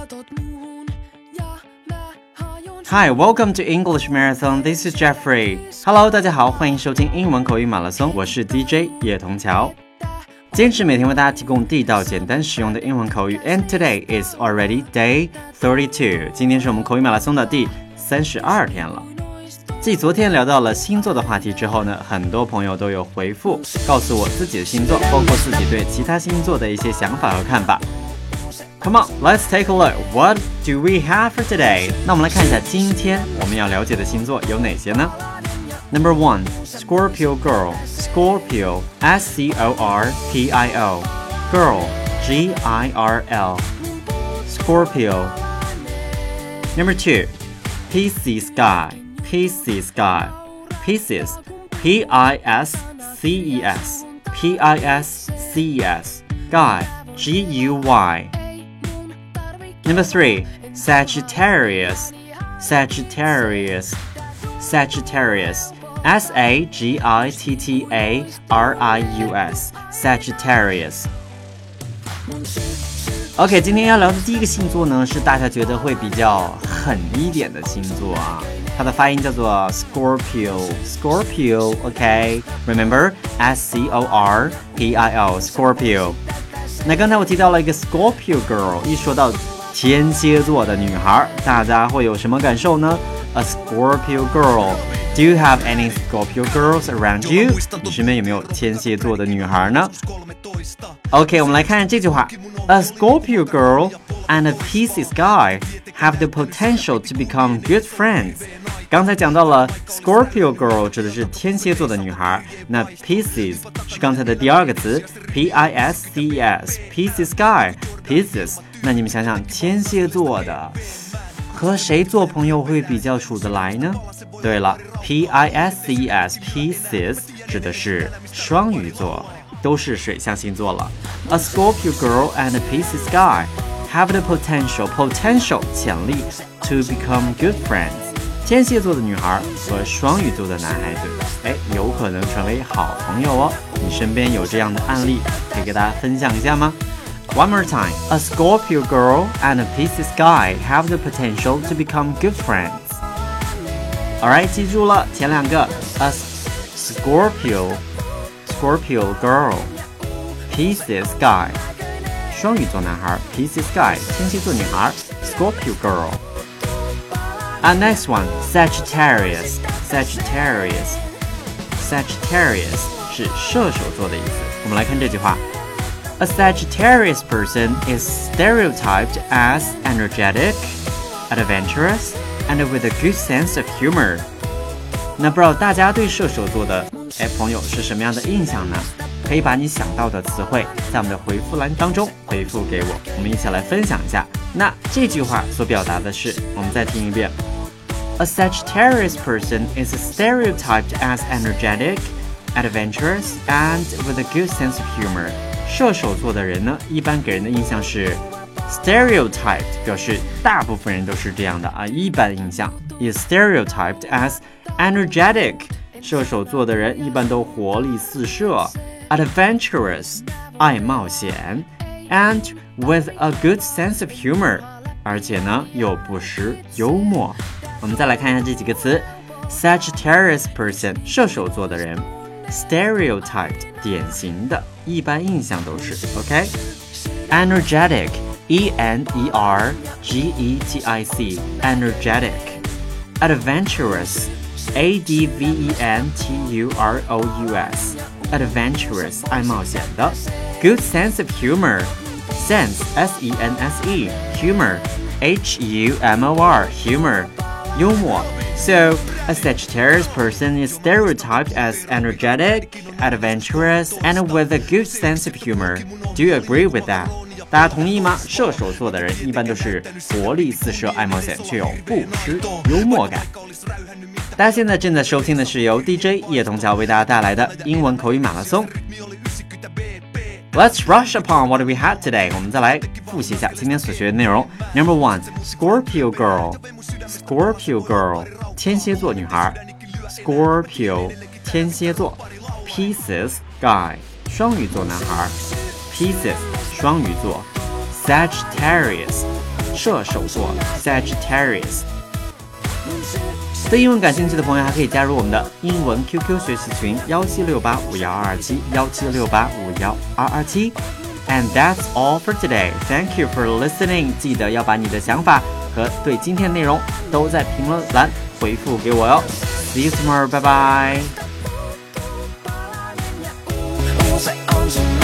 Hi, welcome to English Marathon. This is Jeffrey. Hello, 大家好，欢迎收听英文口语马拉松，我是 DJ 叶童桥。坚持每天为大家提供地道、简单、实用的英文口语 ，and today is already day 32. 今天是我们口语马拉松的第32天了。继昨天聊到了星座的话题之后呢，很多朋友都有回复，告诉我自己的星座，包括自己对其他星座的一些想法和看法。Come on, let's take a look. What do we have for today? 那我们来看一下今天我们要了解的星座有哪些呢？ Number 1, Scorpio Girl. Scorpio, S-C-O-R-P-I-O. Girl, G-I-R-L. Scorpio. Number 2, Pisces Sky. Pisces Sky. Pisces, P-I-S-C-E-S. P-I-S-C-E-S. Guy, G-U-Y.Number 3, Sagittarius. Sagittarius. Sagittarius. S-A-G-I-T-T-A-R-I-U-S. Sagittarius. OK, 今天要聊的第一个星座呢，是大家觉得会比较狠一点的星座啊。它的发音叫做 Scorpio. Scorpio, OK? Remember? S-C-O-R-P-I-O. Scorpio.那刚才我提到了一个 Scorpio Girl， 一说到天蝎座的女孩，大家会有什么感受呢？ A Scorpio Girl. Do you have any Scorpio Girls around you? 你身边有没有天蝎座的女孩呢？ OK, 我们来看这句话。A Scorpio Girl and a Pisces Guy have the potential to become good friends. 刚才讲到了 Scorpio Girl 指的是天蝎座的女孩，那 Pisces 是刚才的第二个词 P-I-S-C-E-S Pisces Guy Pisces， 那你们想想天蝎座的和谁做朋友会比较处得来呢？对了 P-I-S-C-E-S Pisces 指的是双鱼座，都是水象星座了。 A Scorpio Girl and a Pisces Guy have the potential 潜力 to become good friends。天蝎座的女孩和双鱼座的男孩子，有可能成为好朋友哦。你身边有这样的案例，可以给大家分享一下吗？ One more time. A Scorpio girl and a Pisces guy have the potential to become good friends. Alright, 记住了前两个 A Scorpio girl, Pisces guy 双鱼座男孩 Pisces guy 天蝎座女孩 Scorpio girl。And next one, Sagittarius. Sagittarius 是射手座的意思。我们来看这句话。A Sagittarius person is stereotyped as energetic, adventurous, and with a good sense of humor. 那不知道大家对射手座的朋友是什么样的印象呢？可以把你想到的词汇在我们的回复栏当中回复给我，我们一起来分享一下。那这句话所表达的是，我们再听一遍。A Sagittarius person is stereotyped as energetic, adventurous, and with a good sense of humor. 射手座的人呢，一般给人的印象是 stereotyped， 表示大部分人都是这样的啊，一般印象 is stereotyped as energetic。射手座的人一般都活力四射 ，adventurous， 爱冒险 ，and with a good sense of humor， 而且呢又不失幽默。我们再来看一下这几个词 Sagittarius person 射手座的人 Stereotyped 典型的一般印象都是 OK Energetic E-N-E-R-G-E-T-I-C Energetic Adventurous A-D-V-E-N-T-U-R-O-U-S Adventurous 爱冒险的 Good sense of humor Sense S-E-N-S-E Humor H-U-M-O-R Humor幽默 So, a Sagittarius person is stereotyped as energetic, adventurous, and with a good sense of humor. Do you agree with that? 大家同意吗？射手座的人一般都是活力四射、爱冒险，却又不失幽默感。大家现在正在收听的是由 DJ 叶童桥为大家带来的英文口语马拉松。Let's rush upon what we had today. 我们再来复习一下今天所学的内容。Number 1, Scorpio Girl. Scorpio Girl, 天蝎座女孩。Scorpio, 天蝎座。Pisces Guy, 双鱼座男孩。Pisces, 双鱼座。Sagittarius, 射手座 Sagittarius。对英文感兴趣的朋友还可以加入我们的英文 QQ 学习群176851227，176851227。And that's all for today. Thank you for listening. 记得要把你的想法和对今天的内容都在评论栏回复给我哟。See you tomorrow. Bye bye.